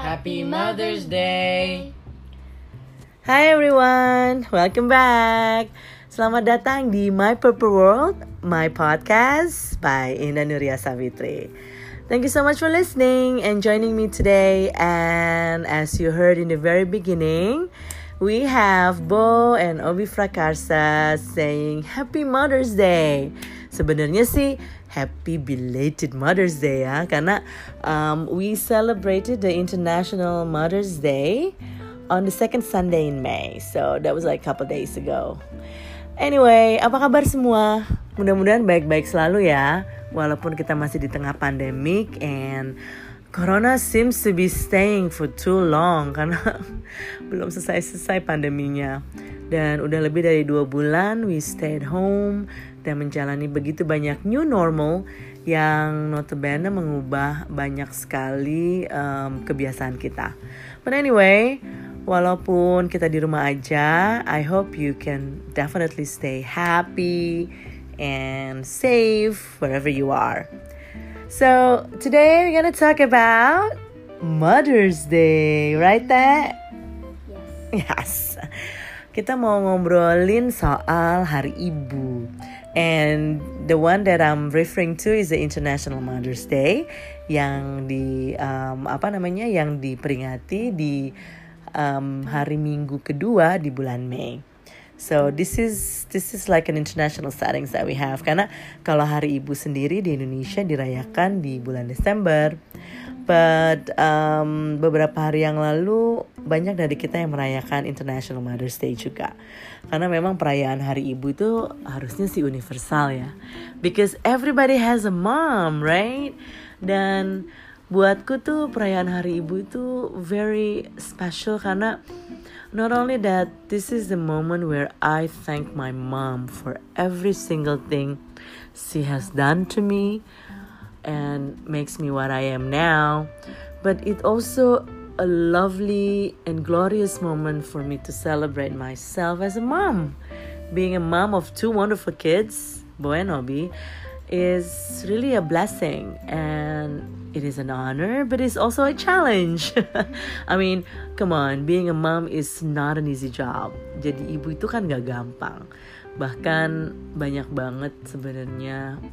Happy Mother's Day. Hi everyone, welcome back. Selamat datang di My Purple World, my podcast by Indah Nuria Savitri. Thank you so much for listening and joining me today. And as you heard in the very beginning, we have Bo and Obi Frakarsa saying Happy Mother's Day. Sebenarnya sih Happy belated Mother's Day ya, karena we celebrated the International Mother's Day on the second Sunday in May. So that was like a couple days ago. Anyway, apa kabar semua? Mudah-mudahan baik-baik selalu ya, walaupun kita masih di tengah pandemic and Corona seems to be staying for too long karena belum selesai pandeminya. Dan udah lebih dari 2 bulan we stay at home dan menjalani begitu banyak new normal yang notabene mengubah banyak sekali kebiasaan kita. But anyway, walaupun kita di rumah aja, I hope you can definitely stay happy and safe wherever you are. So today we're gonna talk about Mother's Day, right Teh? Yes. Kita mau ngobrolin soal Hari Ibu. And the one that I'm referring to is the International Mother's Day yang yang diperingati di hari Minggu kedua di bulan Mei. So this is like an international settings that we have, karena kalau Hari Ibu sendiri di Indonesia dirayakan di bulan Desember. But beberapa hari yang lalu banyak dari kita yang merayakan International Mother's Day juga. Karena memang perayaan Hari Ibu itu harusnya sih universal ya. Because everybody has a mom, right? Dan buatku tuh perayaan Hari Ibu itu very special karena not only that, this is the moment where I thank my mom for every single thing she has done to me and makes me what I am now. But it also a lovely and glorious moment for me to celebrate myself as a mom. Being a mom of 2 wonderful kids, Bo and Obi, is really a blessing and it is an honor, but it's also a challenge. I mean, come on, being a mom is not an easy job. Jadi ibu itu kan gak gampang. Bahkan banyak banget sebenarnya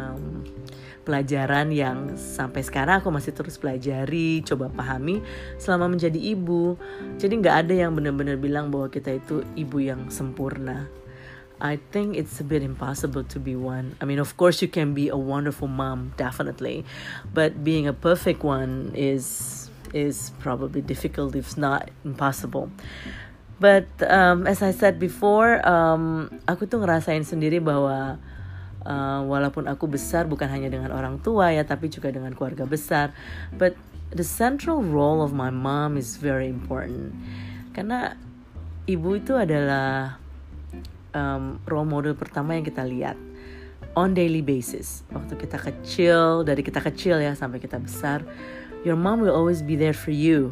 pelajaran yang sampai sekarang aku masih terus pelajari, coba pahami selama menjadi ibu. Jadi gak ada yang benar-benar bilang bahwa kita itu ibu yang sempurna. I think it's a bit impossible to be one. I mean, of course you can be a wonderful mom, definitely. But being a perfect one is probably difficult, if not impossible. But as I said before, aku tuh ngerasain sendiri bahwa walaupun aku besar bukan hanya dengan orang tua ya, tapi juga dengan keluarga besar. But the central role of my mom is very important. Karena ibu itu adalah role model pertama yang kita lihat on daily basis. Waktu kita kecil, dari kita kecil ya sampai kita besar, your mom will always be there for you,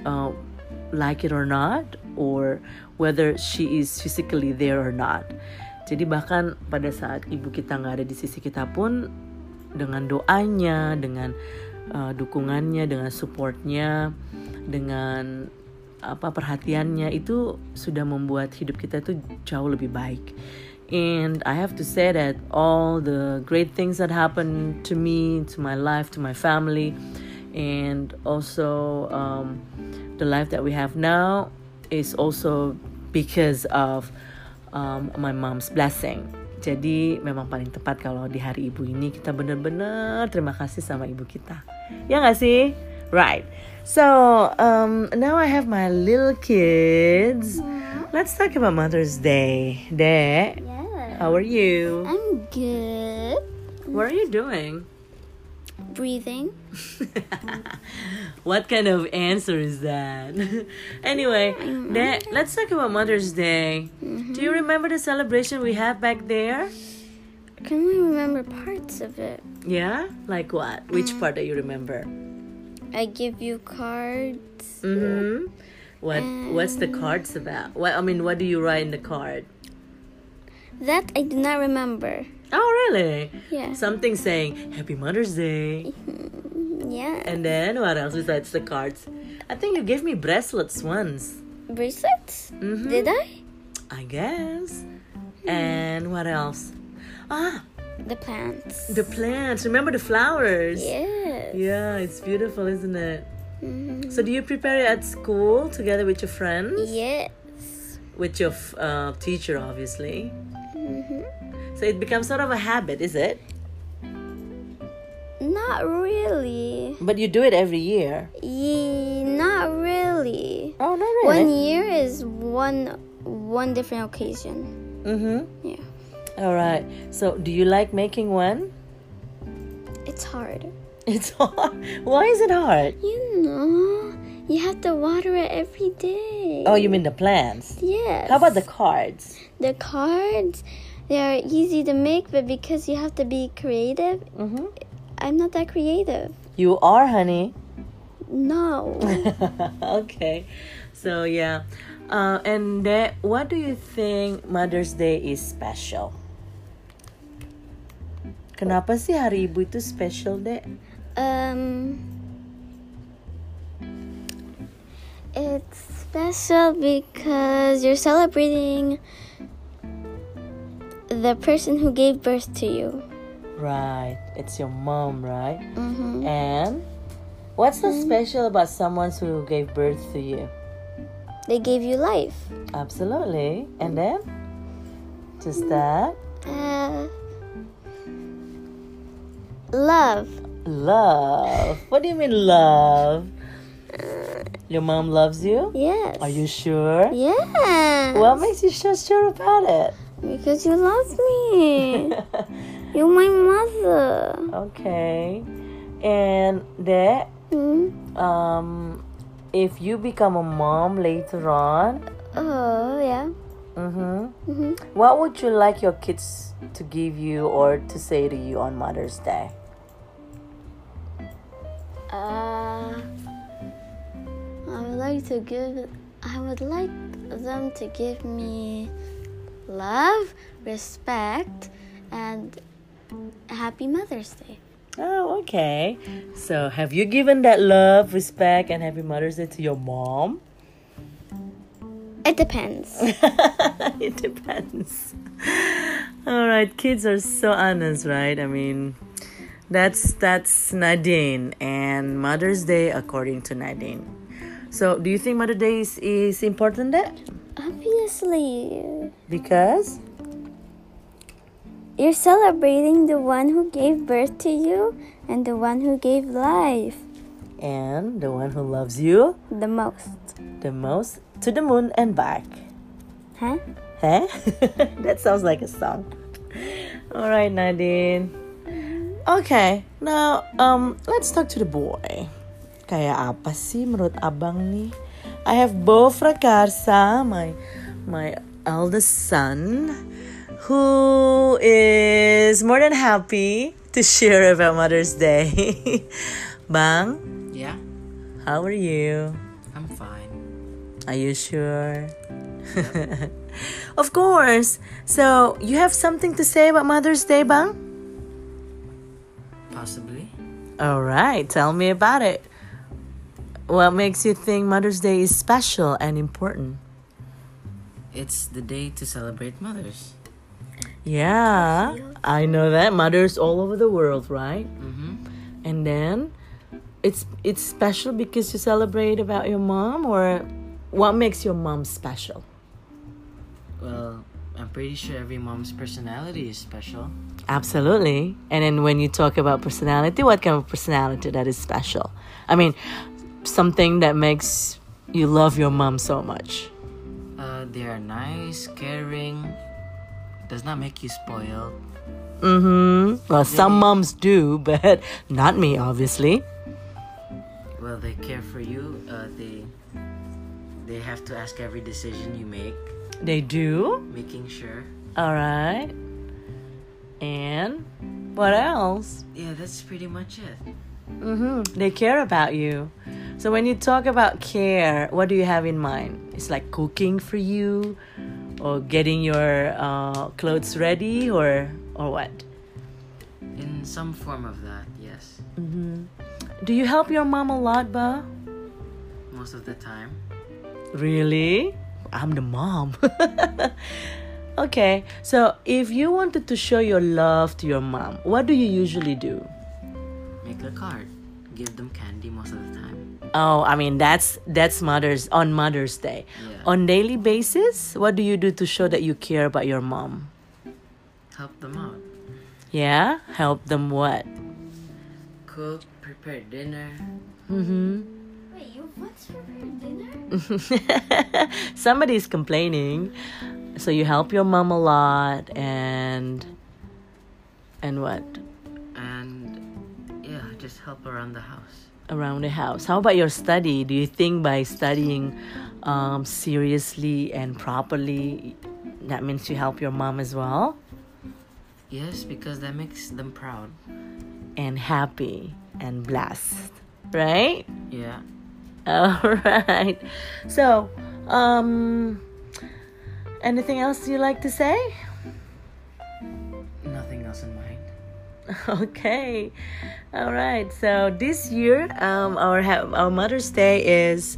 like it or not, or whether she is physically there or not. Jadi bahkan pada saat ibu kita gak ada di sisi kita pun, dengan doanya, dengan dukungannya, dengan supportnya, dengan perhatiannya, itu sudah membuat hidup kita itu jauh lebih baik. And I have to say that all the great things that happened to me, to my life, to my family, and also the life that we have now is also because of my mom's blessing. Jadi memang paling tepat kalau di hari ibu ini kita benar-benar terima kasih sama ibu kita. Ya gak sih? Right. So now I have my little kids. Let's talk about Mother's Day. De, how are you? I'm good. What are you doing? Breathing. What kind of answer is that? Anyway, let's talk about Mother's Day. Do you remember the celebration we had back there? I can only remember parts of it. Yeah? Like what? Which part do you remember? I give you cards. Mm-hmm. What's the cards about? What do you write in the card? That I do not remember. Oh, really? Yeah. Something saying Happy Mother's Day. Yeah. And then what else besides the cards? I think you gave me bracelets once. Bracelets? Mm-hmm. Did I? I guess. And what else? Ah, The plants. the plants. Remember the flowers? Yes. Yeah, it's beautiful, isn't it? Mhm. So do you prepare it at school together with your friends? Yes. With your teacher, obviously. Mhm. So it becomes sort of a habit, is it? Not really. But you do it every year. Not really. Oh, not 1 really. year is one different occasion. Mm-hmm. Yeah. All right. So do you like making one? It's hard. It's hard. Why is it hard? You know, you have to water it every day. Oh, you mean the plants? Yes. How about the cards? The cards? They are easy to make, but because you have to be creative, Mm-hmm. I'm not that creative. You are, honey. No. Okay. So yeah. And what do you think Mother's Day is special? Kenapa sih Hari Ibu itu special, Dek? It's special because you're celebrating the person who gave birth to you. Right. It's your mom, right? Mm-hmm. And what's so special about someone who gave birth to you? They gave you life. Absolutely. And then? Just that? Love. Love. What do you mean love? Your mom loves you? Yes. Are you sure? Yes. What makes you so sure about it? Because you love me. You're my mother. Okay. And that if you become a mom later on, Oh, yeah. what would you like your kids to give you or to say to you on Mother's Day? I would like them to give me love, respect, and happy Mother's Day. Oh, okay. So have you given that love, respect, and happy Mother's Day to your mom? It depends. It depends. All right, kids are so honest, right? I mean, that's Nadine and Mother's Day according to Nadine. So, do you think Mother's Day is important there? Obviously, Because you're celebrating the one who gave birth to you and the one who gave life and the one who loves you the most. the most to the moon and back. Huh? Huh? That sounds like a song. All right, Nadine. Okay, now let's talk to the boy. Kayak apa sih menurut abang nih? I have Bo Frakarsa, my eldest son, who is more than happy to share about Mother's Day. Bang, Yeah, how are you? I'm fine. Are you sure? Of course. So, you have something to say about Mother's Day, Bang? Possibly. All right, tell me about it. What makes you think Mother's Day is special and important? It's the day to celebrate mothers. Yeah, I know that. Mothers all over the world, right? Mm-hmm. And then, it's special because you celebrate about your mom, or what makes your mom special? Well, I'm pretty sure every mom's personality is special. Absolutely. And then when you talk about personality, what kind of personality that is special? I mean, something that makes you love your mom so much. They are nice, caring. Does not make you spoiled. Well, some moms do, but not me, obviously. Well, they care for you. They have to ask every decision you make, They do? making sure. All right. And what else? Yeah, that's pretty much it. They care about you. So when you talk about care, what do you have in mind? It's like cooking for you, or getting your clothes ready, or what? In some form of that, yes. Do you help your mom a lot, Ba? Most of the time. Really? I'm the mom. Okay, so if you wanted to show your love to your mom, what do you usually do? Make a card. Give them candy most of the time. Oh, I mean that's Mother's Day. Yeah. On daily basis, what do you do to show that you care about your mom? Help them out. Yeah, help them what? Cook, prepare dinner. Mm-hmm. Wait, you what's for dinner? Somebody's complaining. So you help your mom a lot and what? And yeah, just help around the house. Around the house. How about your study? Do you think by studying seriously and properly, that means you help your mom as well? Yes, because that makes them proud. And happy and blessed, right? Yeah. All right. So, anything else you like to say? Nothing else in mind. Okay. All right. So this year, our Mother's Day is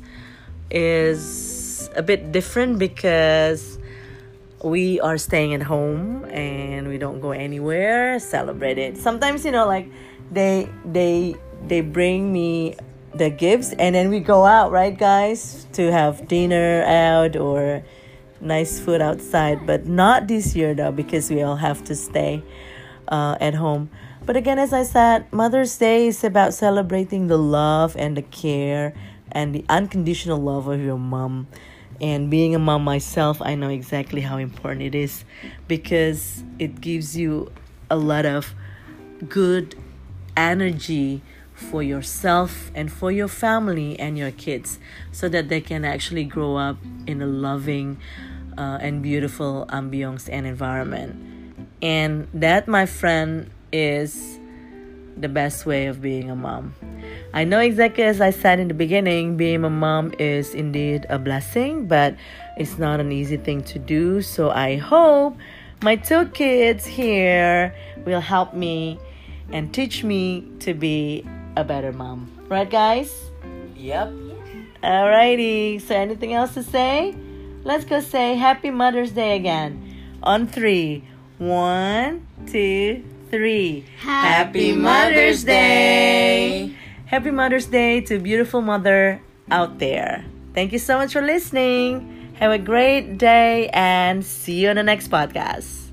a bit different because we are staying at home and we don't go anywhere. Celebrate it. Sometimes like they bring me the gifts and then we go out, right, guys, to have dinner out or nice food outside. But not this year though, because we all have to stay at home. But again, as I said, Mother's Day is about celebrating the love and the care and the unconditional love of your mom. And being a mom myself, I know exactly how important it is because it gives you a lot of good energy for yourself and for your family and your kids so that they can actually grow up in a loving and beautiful ambience and environment. And that, my friend, is the best way of being a mom. I know exactly as I said in the beginning, being a mom is indeed a blessing, but it's not an easy thing to do. So I hope my 2 kids here will help me and teach me to be a better mom. Right, guys? Yep. Alrighty. So anything else to say? Let's go say Happy Mother's Day again. On 3. 1, 2, 3. Happy Mother's Day! Happy Mother's Day to beautiful mother out there. Thank you so much for listening. Have a great day and see you on the next podcast.